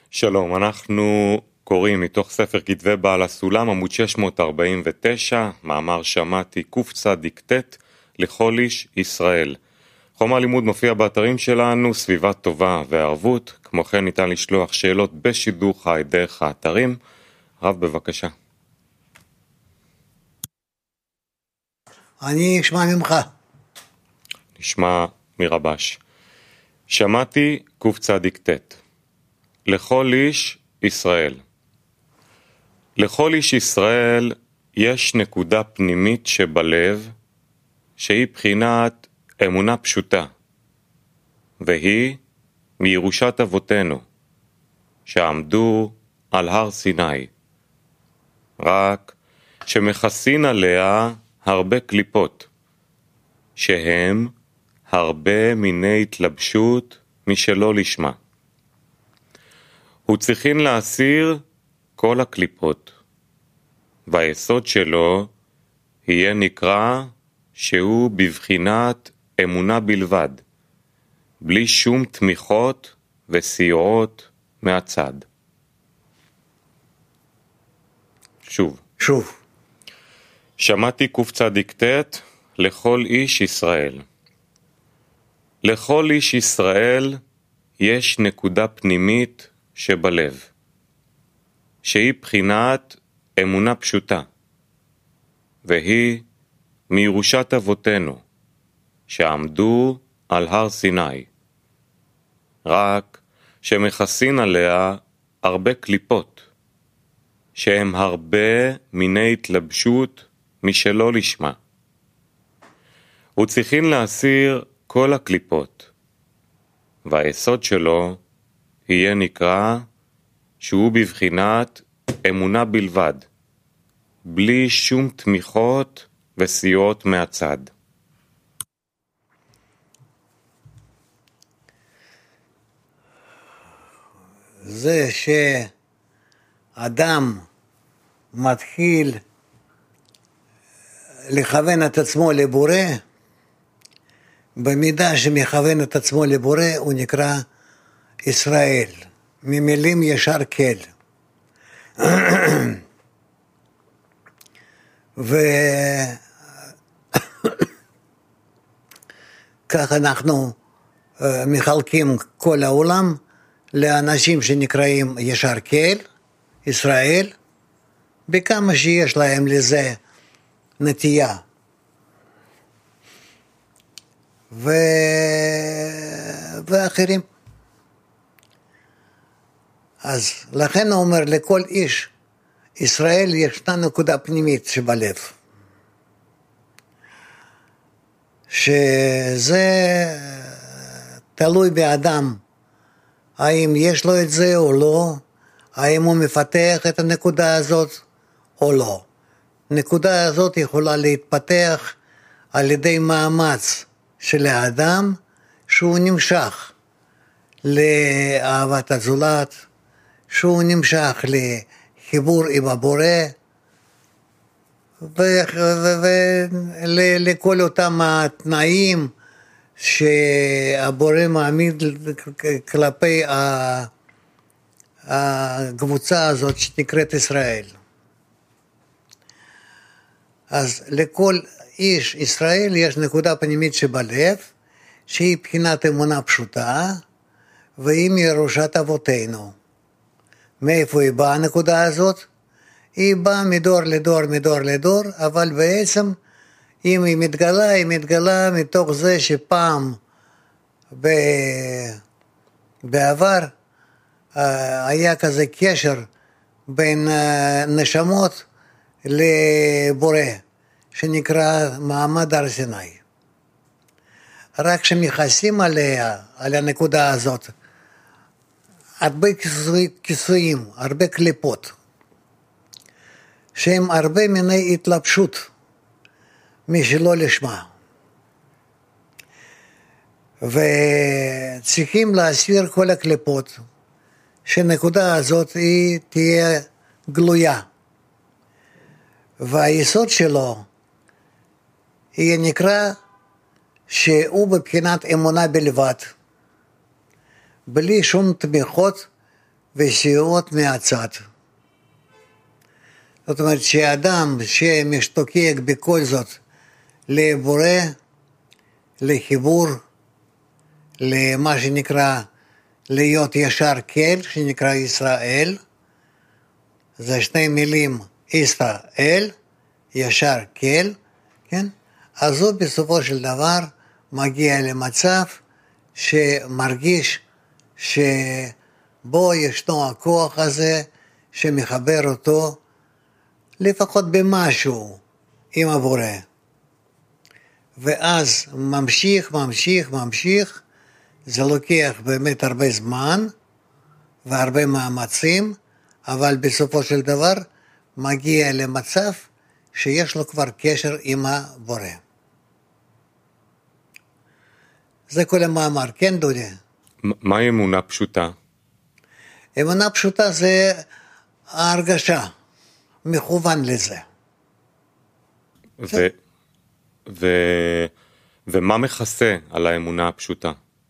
שלום, אנחנו קוראים מתוך ספר כתבי בעל הסולם, עמוד 649, מאמר שמעתי קצ"ט לכל איש ישראל. חומר לימוד מופיע באתרים שלנו, סביבה טובה וערבות, כמו כן ניתן לשלוח שאלות בשידור חי דרך האתרים. רב, בבקשה. אני אשמע ממך. נשמע מרבש. שמעתי קצ"ט. לכל איש ישראל. לכל איש ישראל יש נקודה פנימית שבלב, שהיא בחינת אמונה פשוטה, והיא מירושת אבותינו, שעמדו על הר סיני, רק שמכסין עליה הרבה קליפות, שהם הרבה מיני התלבשות משלא לשמה. הוא צריכין להסיר כל הקליפות, והיסוד שלו יהיה נקרא שהוא בבחינת אמונה בלבד, בלי שום תמיכות וסיועות מהצד. שוב. שמעתי קצ"ט לכל איש ישראל. לכל איש ישראל יש נקודה פנימית שבלב, שהיא בחינת אמונה פשוטה, והיא מירושת אבותינו, שעמדו על הר סיני, רק שמכסין עליה הרבה קליפות, שהם הרבה מיני התלבשות משלא לשמה. הוא צריכין להסיר כל הקליפות, והיסוד שלו יהיה נקרא שהוא בבחינת אמונה בלבד, בלי שום תמיכות וסיועות מהצד. זה שאדם מתחיל לכוון את עצמו לבורא, במידה שמכוון את עצמו לבורא הוא נקרא ישראל, ממילים ישר כל. וכך אנחנו מחלקים כל העולם לאנשים שנקראים ישר כל, ישראל, בכמה שיש להם לזה נטייה. ואחרים. אז לכן הוא אומר, לכל איש ישראל ישנה נקודה פנימית שבלב. שזה תלוי באדם, האם יש לו את זה או לא, האם הוא מפתח את הנקודה הזאת או לא. הנקודה הזאת יכולה להתפתח על ידי מאמץ של האדם, שהוא נמשך לאהבת הזולת, שהוא נמשך לחיבור עם הבורא, ולכל אותם התנאים שהבורא מעמיד כלפי הקבוצה הזאת שנקראת ישראל. אז לכל איש ישראל יש נקודה פנימית שבלב, שהיא בחינת אמונה פשוטה, והיא מירושת אבותינו. מאיפה היא באה הנקודה הזאת? היא באה מדור לדור, מדור לדור, אבל בעצם אם היא מתגלה מתוך זה שפעם בעבר היה כזה קשר בין נשמות לבורא, שנקרא מעמד הר סיני. רק שמכסים עליה, על הנקודה הזאת, הרבה כיסויים, הרבה קליפות, שהם הרבה מיני התלבשות משלא לשמה. וצריכים להסיר כל הקליפות, שהנקודה הזאת היא תהיה גלויה. והיסוד שלו יהיה נקרא שהוא בבחינת אמונה בלבד, בלי שום תמיכות וסיעות מהצד. זאת אומרת שאדם שמשתוקק בכל זאת לבורא, לחיבור, למה שנקרא להיות ישר כל, שנקרא ישראל, זה שני מילים, ישראל, ישר כל, כן? אז הוא בסופו של דבר מגיע למצב שמרגיש שבו ישנו הכוח הזה שמחבר אותו לפחות במשהו עם הבורא. ואז ממשיך, זה לוקח באמת הרבה זמן והרבה מאמצים, אבל בסופו של דבר מגיע למצב שיש לו כבר קשר עם הבורא. זה כל המאמר, כן דודי? מהי אמונה פשוטה? אמונה פשוטה זה ההרגשה, מכוון לזה. ומה מכסה על האמונה הפשוטה?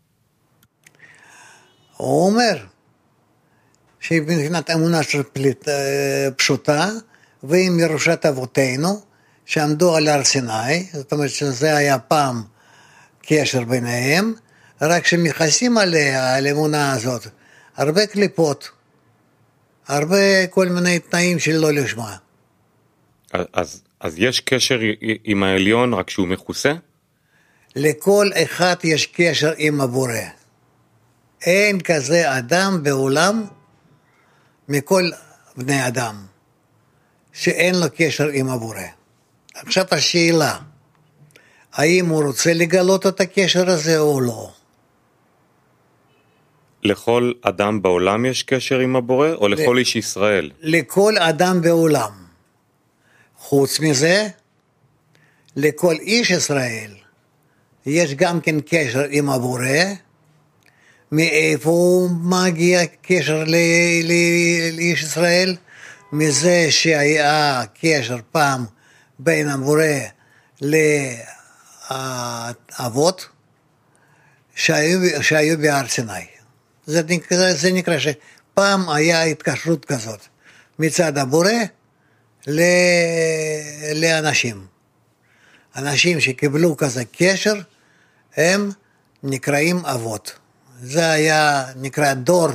הוא אומר שמבחינת אמונה פשוטה, והיא מירושת אבותינו, שעמדו על הר סיני, זאת אומרת שזה היה פעם קשר ביניהם, רק שמכסים עליה, על האמונה הזאת, הרבה קליפות, הרבה כל מיני תנאים שלא לשמה. אז יש קשר עם העליון רק שהוא מכוסה? לכל אחד יש קשר עם הבורא. אין כזה אדם בעולם מכל בני אדם שאין לו קשר עם הבורא. עכשיו השאלה, האם הוא רוצה לגלות את הקשר הזה או לא? לכל אדם בעולם יש קשר עם הבורא או לכל איש ישראל? לכל אדם בעולם. חוץ מזה, לכל איש ישראל יש גם כן קשר עם הבורא. מאיפה מגיע קשר לאיש ישראל? מזה שהיה קשר פעם בין הבורא לאבות שהיו בהר סיני. זה נקרא שפעם היה התקשרות כזאת מצד הבורא לאנשים. אנשים שקיבלו כזה קשר הם נקראים אבות. זה היה נקרא דור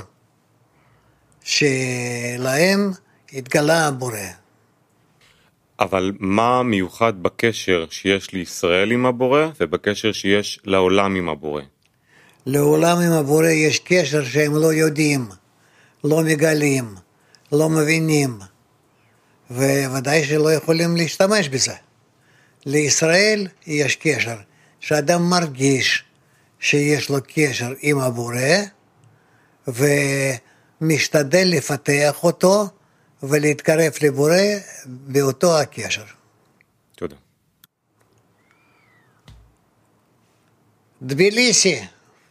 שלהם התגלה הבורא. אבל מה מיוחד בקשר שיש לישראל עם הבורא ובקשר שיש לעולם עם הבורא? לעולם עם הבורא יש קשר שהם לא יודעים, לא מגלים, לא מבינים, וודאי שלא יכולים להשתמש בזה. לישראל יש קשר, שאדם מרגיש שיש לו קשר עם הבורא, ומשתדל לפתח אותו, ולהתקרב לבורא באותו הקשר. תודה. Тбилиси.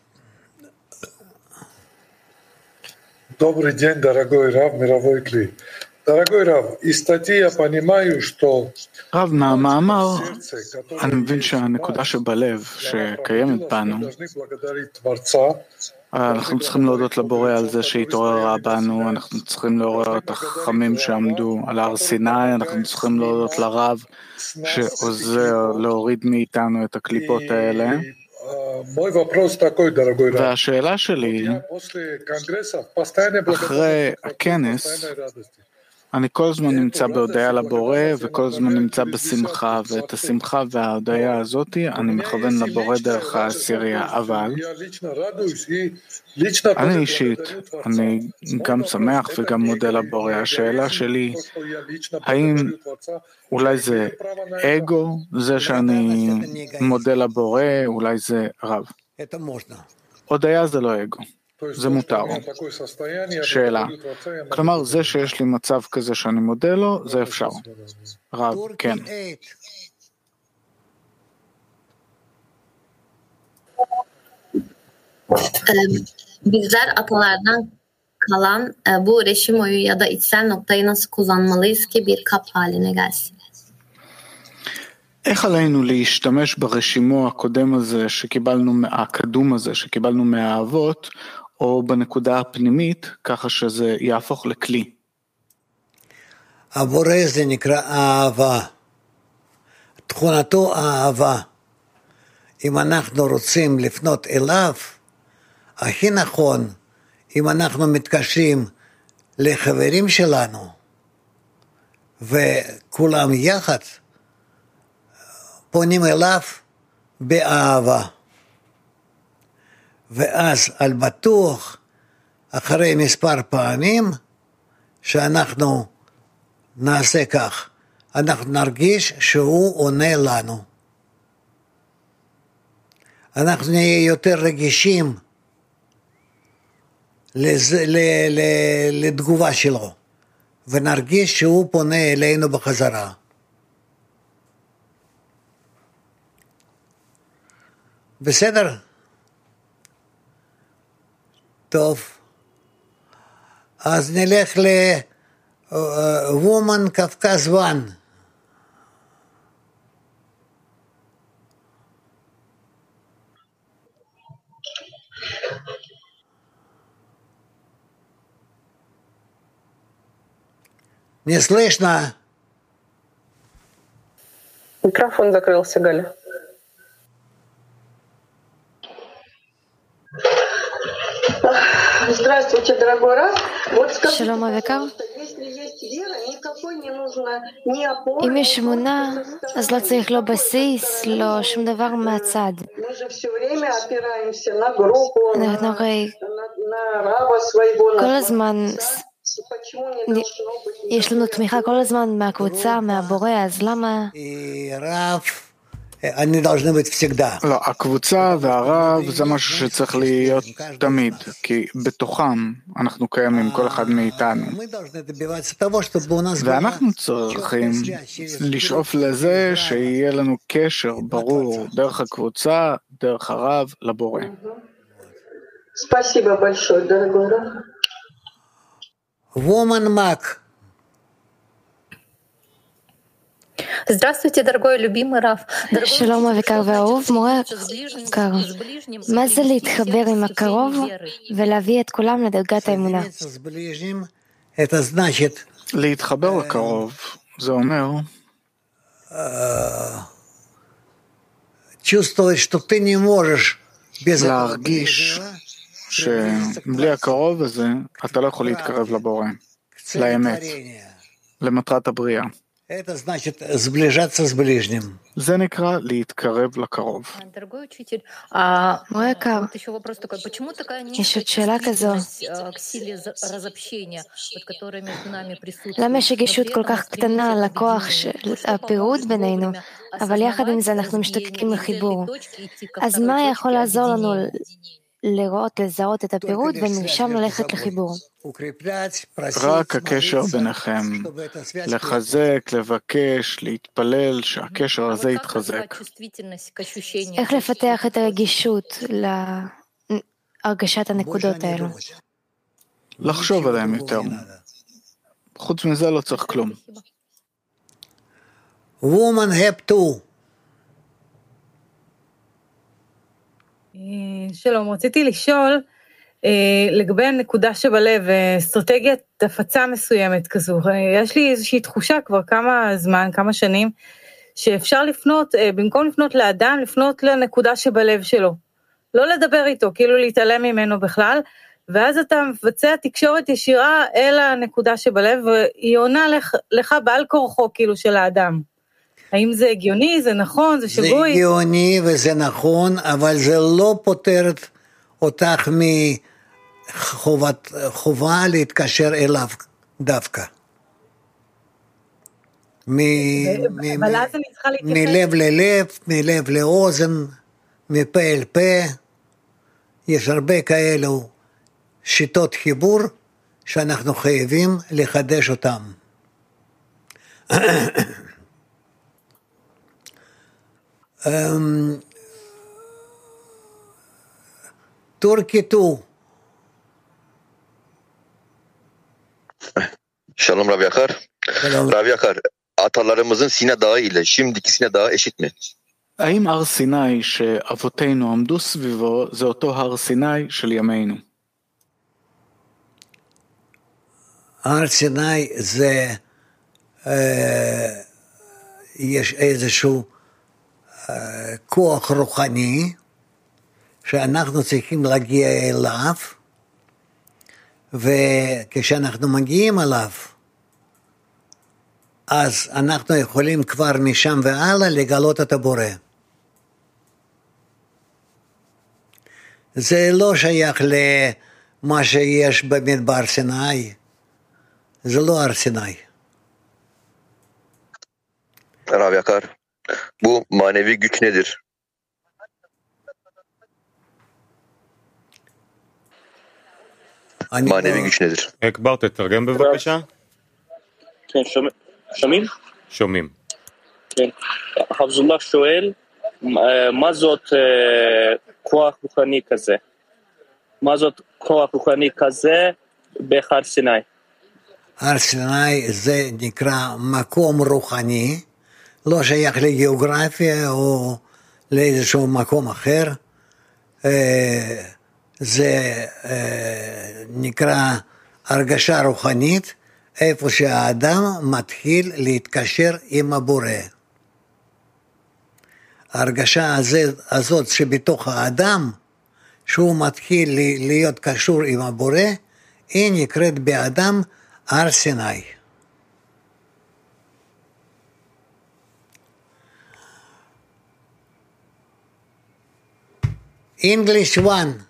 Добрый день, дорогой Рав, мировой клей. Дорогой Рав, из статьи я понимаю, что רב, מהמאמר אני מבין שהנקודה שבלב שקיימת בנו, אנחנו צריכים להודות לבורא על זה שהתעוררה בנו, אנחנו צריכים לעורר את החכמים שעמדו על הר סיני, אנחנו צריכים להודות לרב שעוזר להוריד מאיתנו את הקליפות האלה. והשאלה שלי, אחרי הכנס, אני כל הזמן נמצא בהודעה לבורא וכל הזמן נמצא בשמחה, ואת השמחה וההודעה הזאת אני מכוון לבורא דרך העשירייה, אבל אני אישית, אני גם שמח וגם מודה לבורא. השאלה שלי, האם אולי זה אגו, זה שאני מודה לבורא, אולי זה רב? הודעה זה לא אגו. זה מותר. שאלה. כלומר, זה שיש לי מצב כזה שאני מודה לו, זה אפשר. רב, כן. Bizler atalardan kalan bu reşim oyu ya da içsel noktayı nasıl kullanmalıyız ki bir kap haline gelsin? איך עלינו להשתמש ברשימו הקודם הזה הקדום הזה שקיבלנו מהאבות, או בנקודה הפנימית, ככה שזה יהפוך לכלי. הבורא זה נקרא אהבה. תכונתו אהבה. אם אנחנו רוצים לפנות אליו, הכי נכון, אם אנחנו מתקשרים לחברים שלנו, וכולם יחד, פונים אליו באהבה. ואז על בטוח, אחרי מספר פעמים, שאנחנו נעשה כך, אנחנו נרגיש שהוא עונה לנו. אנחנו נהיה יותר רגישים לתגובה שלו, ונרגיש שהוא פונה אלינו בחזרה. בסדר? טוב. אז נלך ל-Woman Kafkaz 1. Не слышно. Микрофон закрылся, Галя. Здравствуйте, дорогой Рав. Вот скажите, пожалуйста, если есть вера, никакой не нужно ни опоры, אם יש אמונה, אז לא צריך לא בסיס, לא שום דבר מהצד. мы же все время опираемся на группу, אנחנו הרי на Рава своего, כל הזמן יש לנו תמיכה כל הזמן מהקבוצה, מהבורא, אז למה? לא, הקבוצה והרב זה משהו שצריך להיות תמיד, כי בתוכם אנחנו קיימים, כל אחד מאיתנו. ואנחנו צריכים לשאוף לזה שיהיה לנו קשר ברור דרך הקבוצה, דרך הרב, לבורא. Спасибо большое, дорогой Рав. Woman Mac. Здравствуйте, дорогой любимый Рав. שלום היקר והאהוב, מורה יקר. מה זה להתחבר עם הקרוב ולהביא את כולם לדרגת האמונה? להתחבר לקרוב, זה אומר להרגיש שבלי הקרוב הזה אתה לא יכול להתקרב לבורא, לאמת, למטרת הבריאה. זה נקרא להתקרב לקרוב. מורה יקר, יש עוד שאלה כזו. למה יש רגישות כל כך קטנה לכוח של הפירוד בינינו, אבל יחד עם זה אנחנו משתוקקים לחיבור? אז מה יכול לעזור לנו לראות, לזהות את הפירוד ומשם ללכת לחיבור? רק הקשר ביניכם, לחזק, לבקש, להתפלל שהקשר הזה יתחזק. איך לפתח את הרגישות להרגשת הנקודות האלו? לחשוב עליהם יותר. חוץ מזה לא צריך כלום. Woman have to. שלום, רציתי לשאול לגבי הנקודה שבלב, אסטרטגיית הפצה מסוימת כזו. יש לי איזושהי תחושה כבר כמה זמן, כמה שנים, שאפשר לפנות, במקום לפנות לאדם, לפנות לנקודה שבלב שלו. לא לדבר איתו, כאילו להתעלם ממנו בכלל, ואז אתה מבצע תקשורת ישירה אל הנקודה שבלב, והיא עונה לך בעל כורחו כאילו של האדם. האם זה הגיוני, זה נכון, זה שגוי? זה הגיוני וזה נכון, אבל זה לא פותר אותך מחובה להתקשר אליו דווקא. אבל אז אני צריכה להתייחס. מלב ללב, מלב לאוזן, מפה אל פה. יש הרבה כאלו שיטות חיבור שאנחנו חייבים לחדש אותם. Turkey 2. Şalom Rav Yakar. Rav Yakar, atalarımızın Sina Dağı ile şimdiki Sina Dağı eşit mi? האם הר סיני שאבותינו עמדו סביבו זה אותו הר סיני של ימינו? הר סיני זה, יש איזשהו כוח רוחני שאנחנו צריכים להגיע אליו, וכשאנחנו מגיעים אליו, אז אנחנו יכולים כבר משם והלאה לגלות את הבורא. זה לא שייך למה שיש במדבר סיני, זה לא הר סיני. Rav Yakar, bu manevi güç nedir? manevi güç nedir? אקבר, תתרגם בבקשה. כן, שומעים? שומעים. כן. חבזולlah שואל, מה זאת כוח רוחני כזה? מה זאת כוח רוחני כזה בהר סיני? הר סיני זה נקרא מקום רוחני, לא שייך לגיאוגרפיה או לאיזשהו מקום אחר, זה נקרא הרגשה רוחנית, איפה שהאדם מתחיל להתקשר עם הבורא. ההרגשה הזאת שבתוך האדם, שהוא מתחיל להיות קשור עם הבורא, היא נקראת באדם הר סיני. English 1.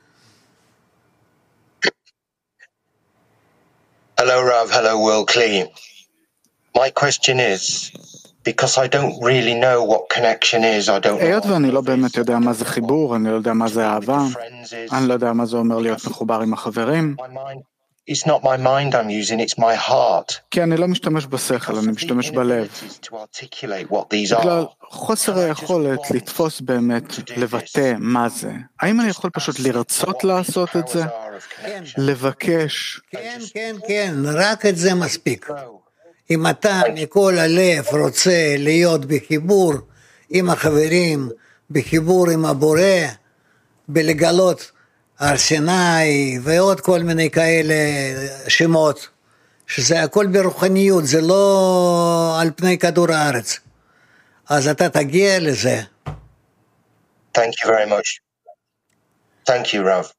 Hello, Rav. Hello, World Clean. My question is, because I don't really know what connection is, I don't know. היות ואני לא באמת יודע מה זה חיבור, אני לא יודע מה זה אהבה, אני לא יודע מה זה אומר להיות מחובר עם החברים. It's not my mind I'm using, it's my heart. כי אני לא משתמש בשכל, אני משתמש בלב. בגלל חוסר היכולת לתפוס באמת, לבטא מה זה. האם אני יכול פשוט לרצות לעשות את זה? לבקש? כן, רק את זה מספיק. אם אתה מכל הלב רוצה להיות בחיבור עם החברים, בחיבור עם הבורא, בלגלות הר סיני ועוד כל מיני כאלה שמות, שזה הכל ברוחניות, זה לא על פני כדור הארץ. אז אתה תגיע לזה. Thank you very much. Thank you, Rav.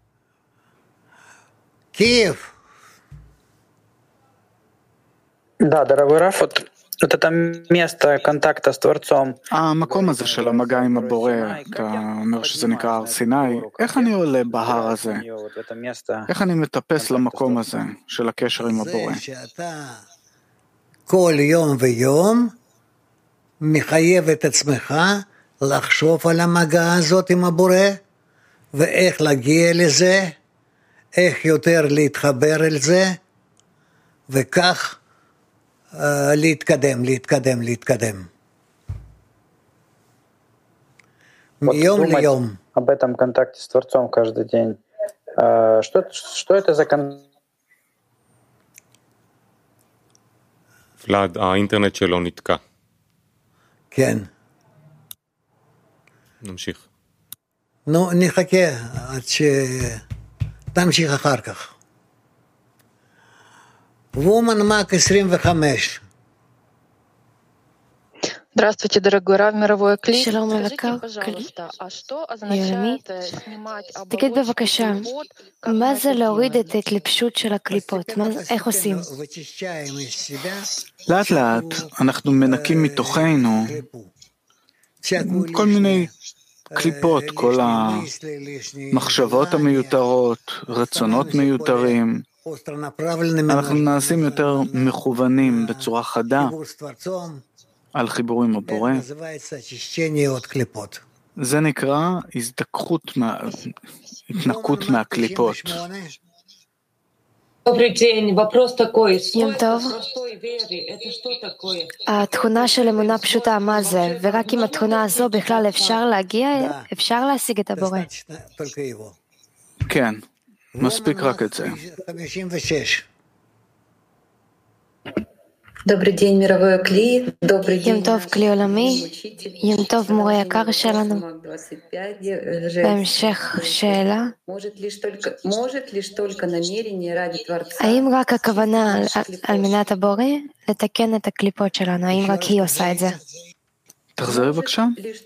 Киев. Да, дорогой Раф, вот это место контакта с Творцом. המקום הזה של המגע עם הבורא, אתה אומר שזה נקרא הר סיני, איך אני עולה בהר הזה? איך אני מטפס למקום הזה של הקשר עם הבורא? זה שאתה כל יום ויום מחייב את עצמך לחשוב על המגע הזאת עם הבורא, ואיך להגיע לזה, איך יותר להתחבר אל זה, וכך להתקדם. מיום ליום. Об этом контакте с Творцом каждый день. Что это за контакт? ולד, האינטרנט שלו נתקע. כן. נמשיך. נו, נחכה עד תמשיך אחר כך. Woman Mac 25. Здравствуйте, дорогой Рав, мировой клип. שלום יקר, יולמי. תגיד בבקשה, מה זה להוריד את ההתלבשות של הקליפות? איך עושים? לאט לאט אנחנו מנקים מתוכנו כל מיני קליפות, כל המחשבות המיותרות, רצונות מיותרים. אנחנו נעשים יותר מכוונים בצורה חדה על חיבור עם הבורא. זה נקרא התנקות מהקליפות. יום טוב. התכונה של אמונה פשוטה, מה זה? ורק עם התכונה הזו בכלל אפשר להשיג את הבורא. כן, מספיק רק את זה. 56. יום טוב כלי עולמי, יום טוב מורה יקר שלנו. בהמשך שאלה, האם רק הכוונה על מנת הבורא לתקן את הקליפות שלנו, האם רק היא עושה את זה? תחזרי בבקשה.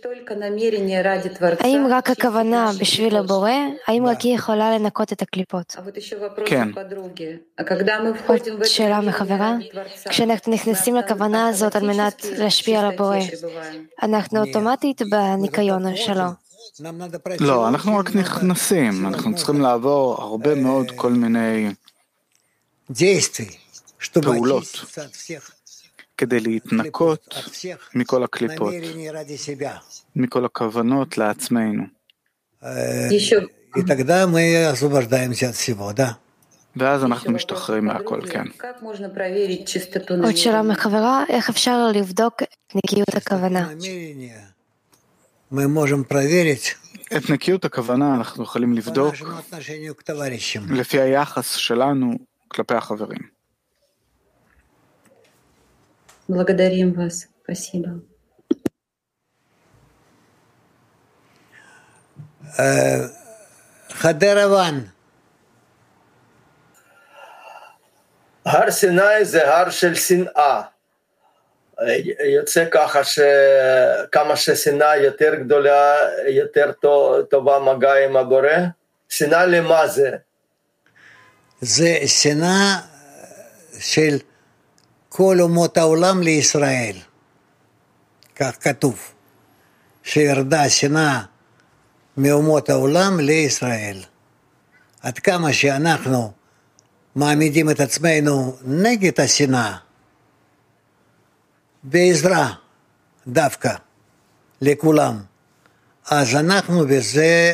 האם רק הכוונה בשביל הבורא, האם רק היא יכולה לנקות את הקליפות? כן. עוד שאלה מחברה, כשאנחנו נכנסים לכוונה הזאת על מנת להשפיע על הבורא, אנחנו אוטומטית בניקיון שלו. לא, אנחנו רק נכנסים, אנחנו צריכים לעבור הרבה מאוד כל מיני פעולות כדי להתנקות מכל הקליפות, מכל הכוונות לעצמנו. ואז אנחנו משתחררים מהכל, כן. עוד שאלה מחברה, איך אפשר לבדוק את נקיות הכוונה? את נקיות הכוונה אנחנו יכולים לבדוק לפי היחס שלנו כלפי החברים. Благодарим вас. Спасибо. חדרוון. הר סיני זה הר של שנאה. יוצא ככה שכמה ששנאה יותר גדולה, יותר טובה מגע עם הבורא. שנאה למה זה? זה שנאה של כל אומות העולם לישראל, כך כתוב, שירדה שנאה מאומות העולם לישראל. עד כמה שאנחנו מעמידים את עצמנו נגד השנאה, בעזרה דווקא לכולם, אז אנחנו בזה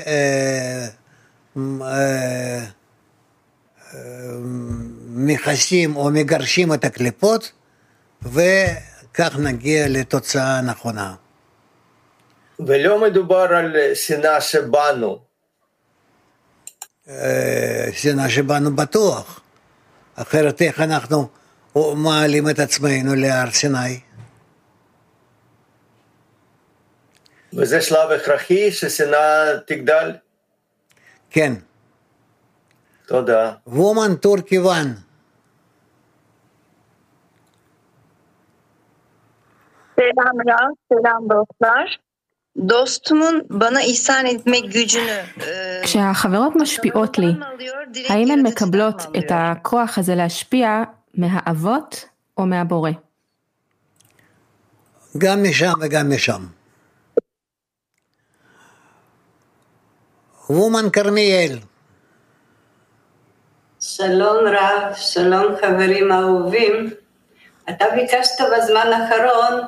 מכסים או מגרשים את הקליפות, וכך נגיע לתוצאה נכונה. ולא מדובר על שנאה שבנו. שנאה שבנו בטוח. אחרת איך אנחנו מעלים את עצמנו להר סיני? וזה שלב הכרחי ששנאה תגדל? כן. תודה. וומן טורקי וואן. Selam ya, selam dostlar. Dostumun bana ihsan etmek gücünü. כשהחברות משפיעות לי, האם הן מקבלות את הכוח הזה להשפיע מהאבות או מהבורא? גם משם וגם משם. וומן כרמיאל. שלום רב, שלום חברים אהובים. אתה ביקשת בזמן האחרון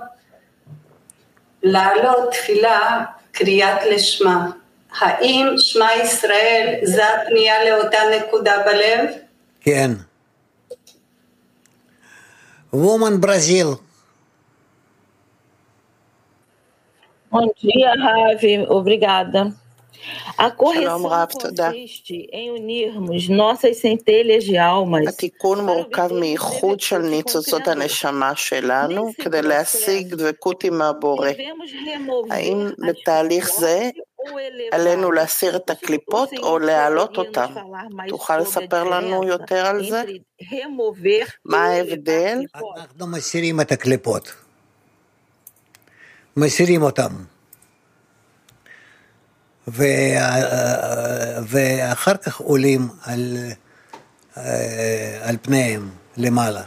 לעלות תפילה קריאת לשמה. האם שמע ישראל זה הפנייה לאותה נקודה בלב? כן. וומן ברזיל. Bom dia, Ravi. Obrigada. A correção consiste em unirmos nossas centelhas de almas. התיקון מורכב מאיחוד של ניצוצות הנשמה שלנו כדי להשיג דבקות עם הבורא. האם בתהליך זה עלינו להסיר את הקליפות או להעלות אותם? תוכל לספר לנו יותר על זה? מה ההבדל? אנחנו מסירים את הקליפות. מסירים אותם. ואחר כך עולים על פניהם למעלה.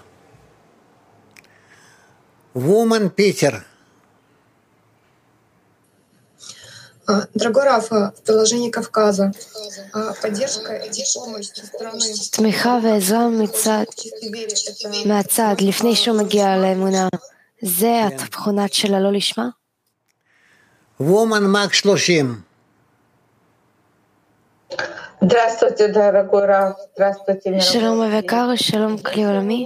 Woman Питер. Дорогой Раф, в приложении Кавказа поддержка и помощь со стороны... תמיכה ועזרה מהצד, לפני שהוא מגיע לאמונה. זה התכונת של הלא לשמה? Woman Мак 30. Здравствуйте, дорогой Раф. Здравствуйте, שלום היקר, שלום כלי עולמי.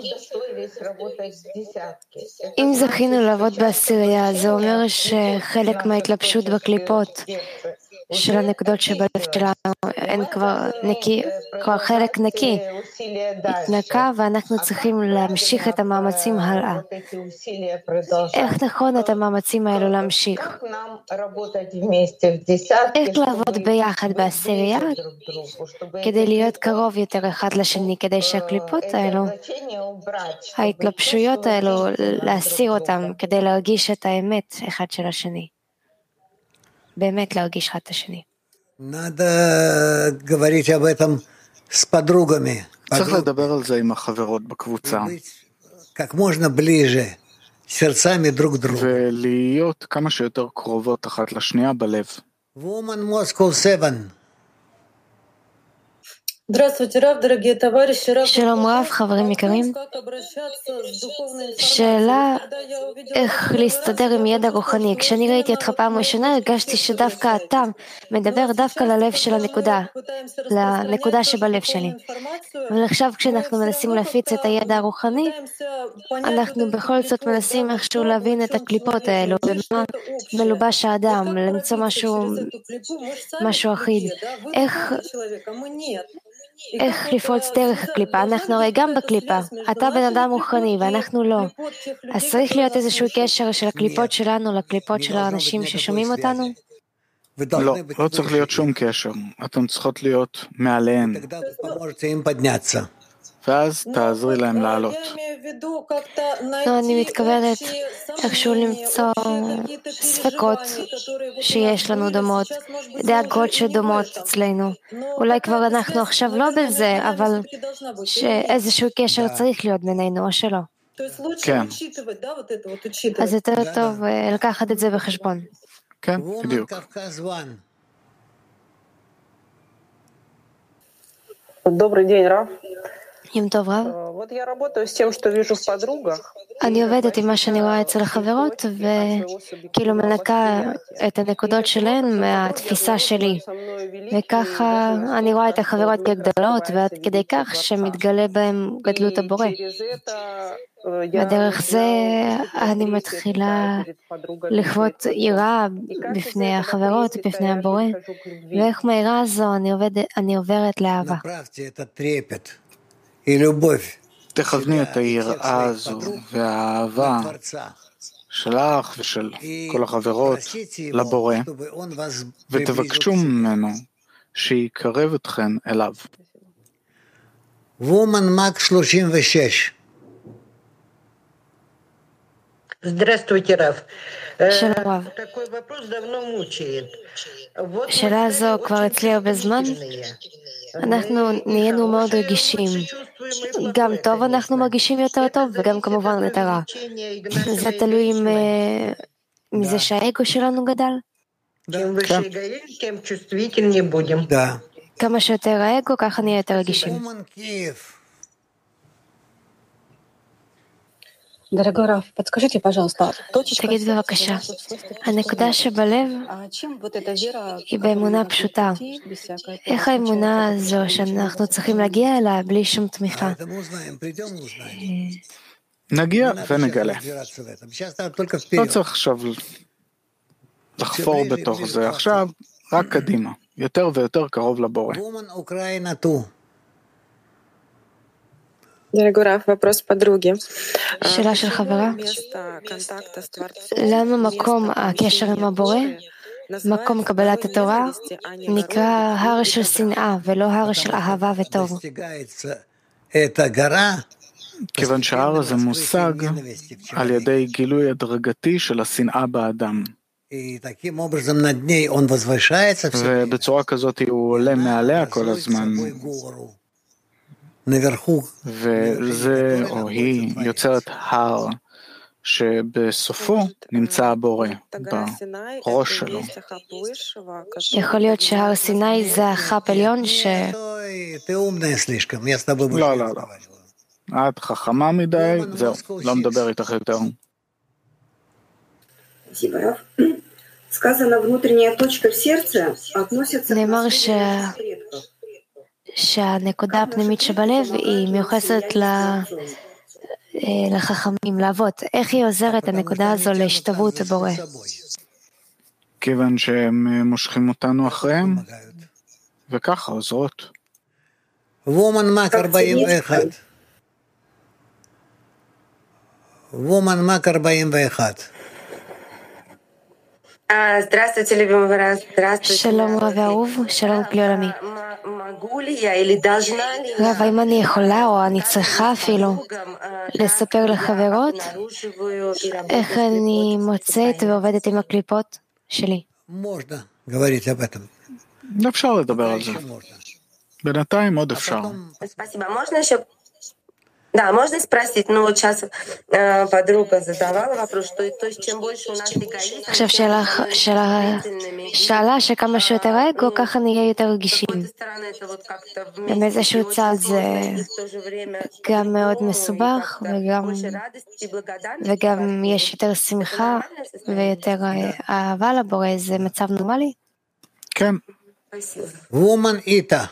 אם זכינו לעבוד בעשירייה, זה אומר שחלק מההתלבשות בקליפות של הנקודות שבלב שלנו, הן כבר חלק נקי, התנקה, ואנחנו צריכים להמשיך את המאמצים הלאה. איך נכון את המאמצים האלו להמשיך? איך לעבוד ביחד בעשירייה כדי להיות קרוב יותר אחד לשני, כדי שהקליפות האלו, ההתלבשויות האלו, להסיר אותם, כדי להרגיש את האמת אחד של השני. באמת להרגיש אחד את השני. צריך לדבר על זה עם החברות בקבוצה. ולהיות כמה שיותר קרובות אחת לשנייה בלב. שלום רב, חברים יקרים. שאלה איך להסתדר עם ידע רוחני. כשאני ראיתי אותך פעם ראשונה, הרגשתי שדווקא אתה מדבר דווקא ללב של לנקודה שבלב שלי. אבל עכשיו כשאנחנו מנסים להפיץ את הידע הרוחני, אנחנו בכל זאת מנסים איכשהו להבין את הקליפות האלו, במה מלובש האדם, למצוא משהו אחיד. איך לפרוץ דרך הקליפה? אנחנו הרי גם בקליפה. אתה בן אדם רוחני ואנחנו לא. אז צריך להיות איזשהו קשר של הקליפות שלנו לקליפות של האנשים ששומעים אותנו? לא צריך להיות שום קשר. אתם צריכות להיות מעליהן. ואז תעזרי להם לעלות. לא, אני מתכוונת איכשהו למצוא ספקות שיש לנו דומות, דאגות שדומות אצלנו. אולי כבר אנחנו עכשיו לא בזה, אבל שאיזשהו קשר צריך להיות בינינו, או שלא. כן. אז יותר טוב לקחת את זה בחשבון. כן, בדיוק. Добрый день, Раф. יום טוב רב. אני עובדת עם מה שאני רואה אצל החברות, וכאילו מנקה את הנקודות שלהן מהתפיסה שלי. וככה אני רואה את החברות כגדולות, ועד כדי כך שמתגלה בהן גדלות הבורא. בדרך זה אני מתחילה לחוות יראה בפני החברות, בפני הבורא, ואיך מהירה הזו אני עוברת לאהבה. תכווני את היראה הזו והאהבה שלך ושל כל החברות לבורא, ותבקשו ממנו שיקרב אתכן אליו. וומן מק 36. Здравствуйте, Раф. שלום רב. שאלה זו כבר אצלי הרבה זמן. אנחנו נהיינו מאוד רגישים. גם טוב אנחנו מרגישים יותר טוב, וגם כמובן יותר רע. זה תלוי מזה שהאגו שלנו גדל. כמה שיותר האגו, ככה נהיה יותר רגישים. תגיד בבקשה, הנקודה שבלב היא באמונה פשוטה. איך האמונה הזו שאנחנו צריכים להגיע אליה בלי שום תמיכה? נגיע ונגלה. לא צריך עכשיו לחפור בתוך זה. עכשיו רק קדימה, יותר ויותר קרוב לבורא. שאלה של חברה, למה מקום הקשר עם הבורא, מקום קבלת התורה, נקרא הר של שנאה ולא הר של אהבה וטוב? כיוון שההר הזה מושג על ידי גילוי הדרגתי של השנאה באדם. ובצורה כזאת הוא עולה מעליה כל הזמן. וזה או היא יוצרת הר שבסופו נמצא הבורא בראש שלו. יכול להיות שהר סיני זה החפ עליון ש... לא, לא, לא. את חכמה מדי, זהו, לא מדבר איתך יותר. נאמר שהנקודה הפנימית שבלב היא מיוחסת לחכמים, לאבות. איך היא עוזרת הנקודה הזו להשתוות הבורא? כיוון שהם מושכים אותנו אחריהם, וככה עוזרות. וומן מק 41. וומן מק 41. שלום רב אהוב, שלום כלי עולמי. רב, האם אני יכולה או אני צריכה אפילו לספר לחברות איך אני מוצאת ועובדת עם הקליפות שלי? אפשר לדבר על זה. בינתיים עוד אפשר. Да, можно спросить, ну вот сейчас подруга задавала вопрос, что то есть чем больше у нас эгоизма, עכשיו שאלה שכמה שיותר אגו, ככה נהיה יותר רגישים. ומאיזשהו צד זה גם מאוד מסובך, וגם יש יותר שמחה ויותר אהבה לבורא, זה מצב נורמלי? כן. וומן איתה.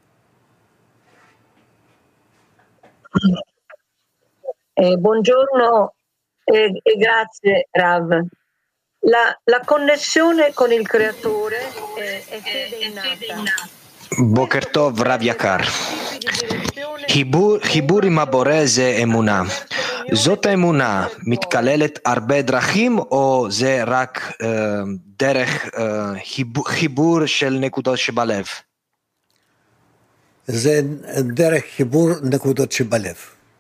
Buongiorno e grazie Rav. La connessione con il creatore è fede innata. בוקר טוב רב יקר. חיבור עם הבורא זה אמונה. זאת האמונה מתכללת הרבה דרכים או זה רק דרך חיבור של נקודות שבלב? זה דרך חיבור נקודות שבלב.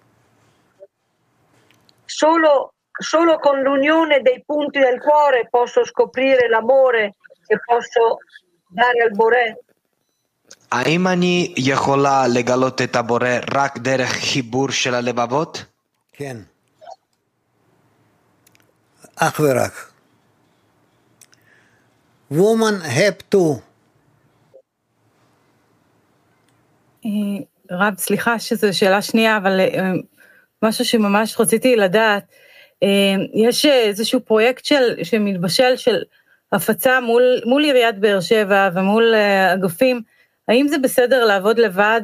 Solo con l'unione dei punti del cuore posso scoprire l'amore che posso dare al Boré. האם אני יכולה לגלות את הבורא רק דרך חיבור של הלבבות? כן. אך ורק. Woman have to. רב, סליחה שזו שאלה שנייה, אבל משהו שממש רציתי לדעת, יש איזשהו פרויקט שמתבשל של הפצה מול עיריית באר שבע ומול אגפים, האם זה בסדר לעבוד לבד,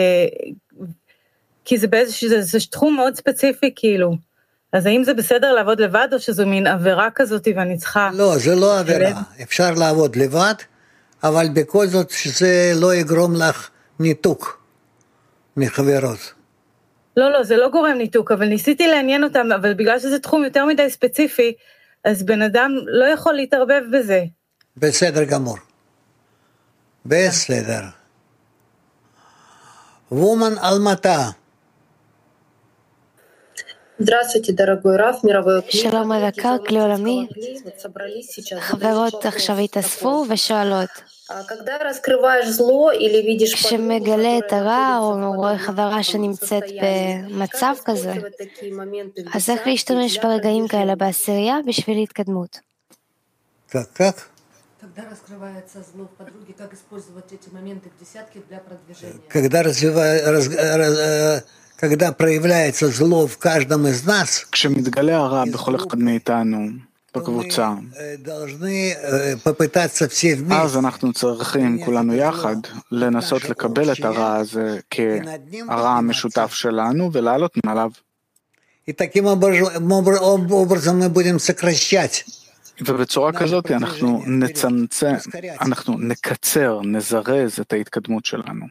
כי זה תחום מאוד ספציפי כאילו, אז האם זה בסדר לעבוד לבד או שזו מין עבירה כזאת ואני צריכה... לא, זה לא עבירה, אפשר לעבוד לבד, אבל בכל זאת שזה לא יגרום לך ניתוק מחברות. לא, זה לא גורם ניתוק, אבל ניסיתי לעניין אותם, אבל בגלל שזה תחום יותר מדי ספציפי, אז בן אדם לא יכול להתערבב בזה. בסדר גמור. בסדר. וומן אלמתה. שלום יקר, כלי עולמי. חברות עכשיו התאספו ושואלות. כשמגלה את הרע או רואה חברה שנמצאת במצב כזה, אז איך להשתמש ברגעים כאלה בעשירייה בשביל התקדמות? כך? когда проявляется зло в каждом из нас, כשמתגלה הרע בכל אחד מאיתנו בקבוצה, אז אנחנו צריכים כולנו יחד לנסות לקבל את הרע הזה כהרע המשותף שלנו ולעלות מעליו. таким образом мы будем сокращать. ובצורה כזאת אנחנו נקצר, נזרז את ההתקדמות שלנו.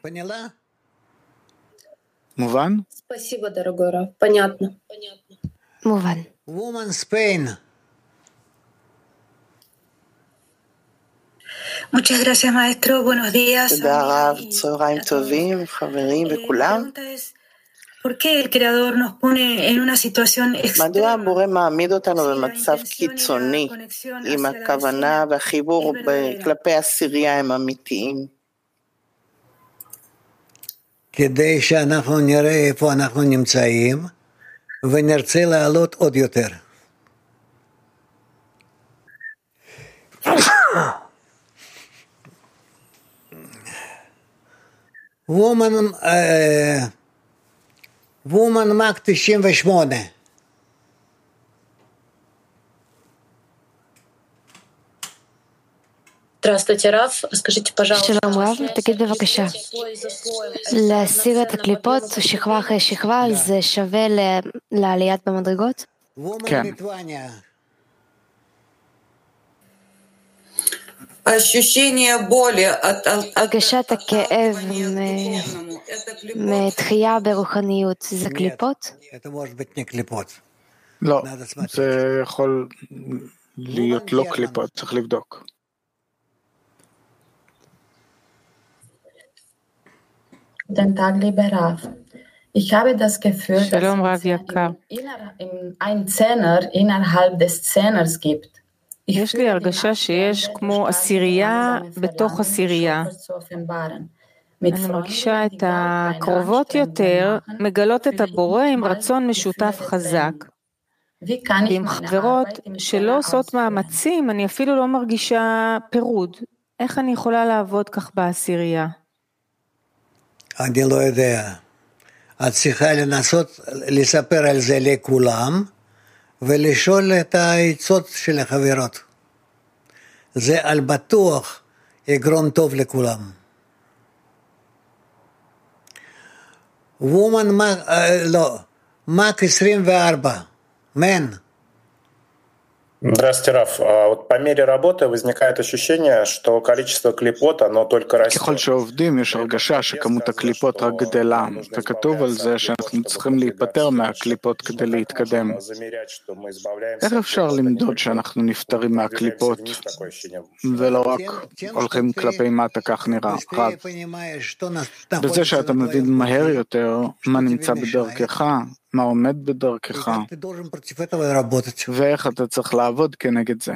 מובן? Спасибо, дорогой Раф. Понятно. מובן. Woman Spain. Muchas gracias, maestro. Buenos días. תודה רב, צהריים טובים, חברים וכולם. ¿Por qué el creador nos pone en una situación extrema? מדוע הבורא מעמיד אותנו במצב קיצוני, אם הכוונה והחיבור כלפי הסירייה הם אמיתיים? כדי שאנחנו נראה איפה אנחנו נמצאים, ונרצה לעלות עוד יותר. וומן מק 98. Здравствуйте, Раф. Скажите, пожалуйста. שלום רב, תגיד בבקשה. להסיר את הקליפות שכבה אחרי שכבה, זה שווה לעליית במדרגות? כן. הרגשת הכאב מתחייה ברוחניות, זה קליפות? לא, זה יכול להיות לא קליפות, צריך לבדוק. Den Tag, lieber Rav. Ich habe das Gefühl, dass es einen Zehner innerhalb des Zehners gibt. יש לי הרגשה שיש כמו עשירייה בתוך עשירייה. אני מרגישה את הקרובות יותר, מגלות את הבורא עם רצון משותף חזק. ועם חברות שלא עושות מאמצים, אני אפילו לא מרגישה פירוד. איך אני יכולה לעבוד כך בעשירייה? אני לא יודע. את צריכה לנסות לספר על זה לכולם, ולשאול את העצות של החברות. זה על בטוח יגרום טוב לכולם. מק 24, מן. Здравствуйте, Раф. Вот по мере работы возникает ощущение, что количество клипот, оно только растет. ככל שעובדים יש הרגשה שכמות הקליפות רק גדלה, וכתוב על זה שאנחנו צריכים להיפטר מהקליפות כדי להתקדם. איך אפשר למדוד שאנחנו נפטרים מהקליפות, ולא רק הולכים כלפי מטה, כך נראה? רב, בזה שאתה מבין מהר יותר מה נמצא בדרכך, מה עומד בדרכך, ואיך אתה צריך לעבוד כנגד זה.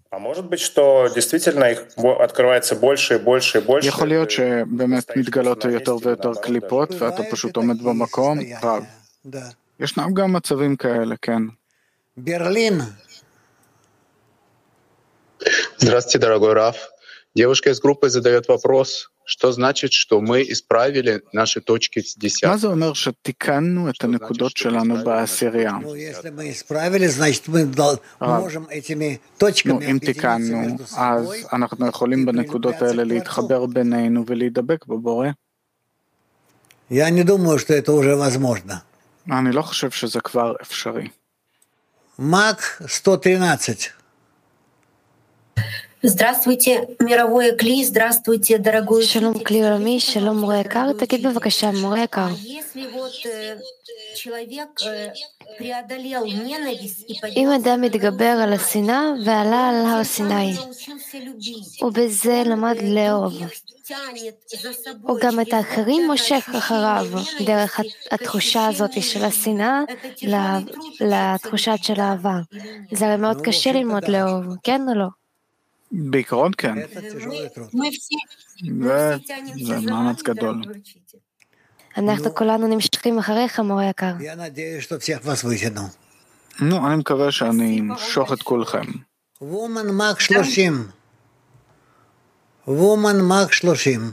יכול להיות שבאמת מתגלות יותר ויותר קליפות, ואתה פשוט עומד במקום, רב. ישנם גם מצבים כאלה, כן. ברלין. Здравствуйте, дорогой Раф. Девушка из группы задает вопрос. Что значит, что мы исправили наши точки с 10? מה זה אומר שתיקנו את הנקודות שלנו בעשירייה? אם תיקנו, אז אנחנו יכולים בנקודות האלה להתחבר בינינו ולהידבק בבורא? אני לא חושב שזה כבר אפשרי. מק 113. Здравствуйте, мировое кли, здравствуйте, дорогой שלום כלי עולמי, שלום מורה יקר, תגיד בבקשה, מורה יקר. אם אדם מתגבר על השנאה ועלה על הר סיני, ובזה למד לאהוב, הוא גם את האחרים מושך אחריו, דרך התחושה הזאת של השנאה לתחושה של האהבה. זה הרי מאוד קשה ללמוד לאהוב, כן או לא? בעיקרון כן. זה מאמץ גדול. אנחנו כולנו נמשכים אחריך, מורה יקר. אני מקווה שאני אמשוך את כולכם. וומן מק 30. וומן מק 30.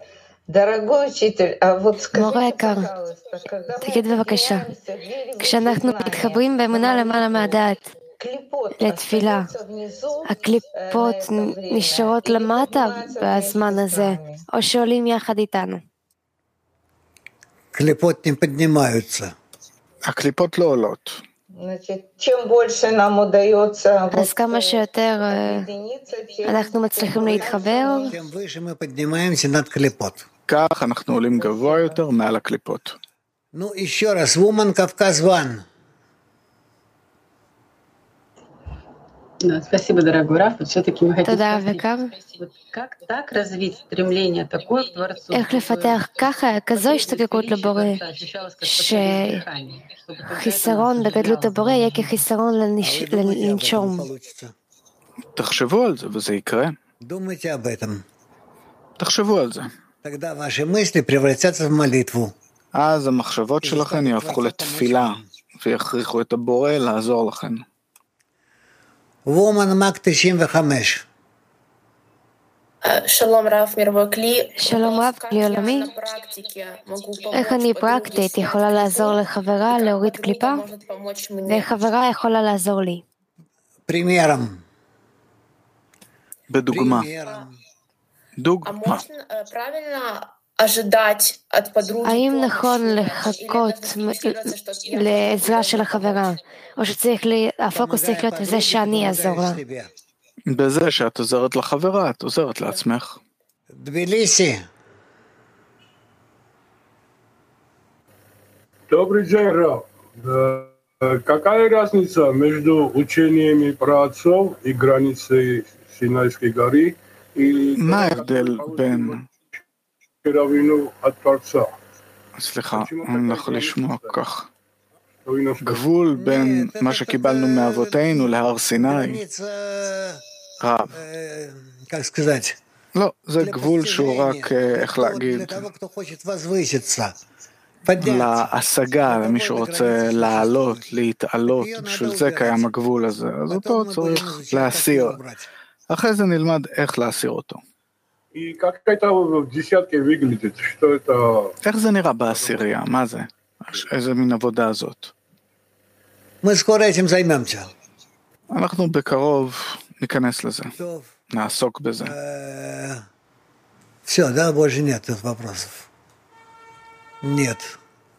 מורה יקר, תגיד בבקשה, כשאנחנו מתחברים באמונה למעלה מהדעת, לתפילה, הקליפות נשארות למטה בזמן הזה, או שעולים יחד איתנו? קליפות נפדנימаются. הקליפות לא עולות. אז כמה שיותר אנחנו מצליחים להתחבר, כך אנחנו עולים גבוה יותר מעל הקליפות. נו, еще раз, וומן קווקז וואן. Спасибо, дорогой Раф. Все-таки мы хотим спросить, как так развить стремление такое к Творцу? איך לפתח ככה, כזו השתוקקות לבורא, שחיסרון בגדלות הבורא יהיה כחיסרון לנשום. תחשבו על זה וזה יקרה. תחשבו על זה. אז המחשבות שלכם יהפכו לתפילה ויכריחו את הבורא לעזור לכם. וומן מק 95. שלום רב, מרווי כלי. שלום רב, כלי עולמי. איך אני פרקטית יכולה לעזור לחברה להוריד קליפה? ואיך חברה יכולה לעזור לי? פרימיירם. בדוגמה. דוגמה. האם נכון לחכות לעזרה של החברה, או שהפוקוס צריך להיות לזה שאני אעזור לה? בזה שאת עוזרת לחברה, את עוזרת לעצמך. Тбилиси. Добрый день, Раф. Какая разница между учениями праотцов и границей Синайской горы и מה ההבדל בין... Равину от Творца? סליחה, אני לא יכול לשמוע כך. גבול בין מה שקיבלנו מאבותינו להר סיני. רב. לא, זה גבול שהוא רק, איך להגיד, להשגה, למי שרוצה לעלות, להתעלות, בשביל זה קיים הגבול הזה. אז אותו צריך להסיר. אחרי זה נלמד איך להסיר אותו. איך זה נראה בעשירייה? מה זה? איזה מין עבודה הזאת? אנחנו בקרוב ניכנס לזה. נעסוק בזה. Все, да, больше нет вопросов. Нет.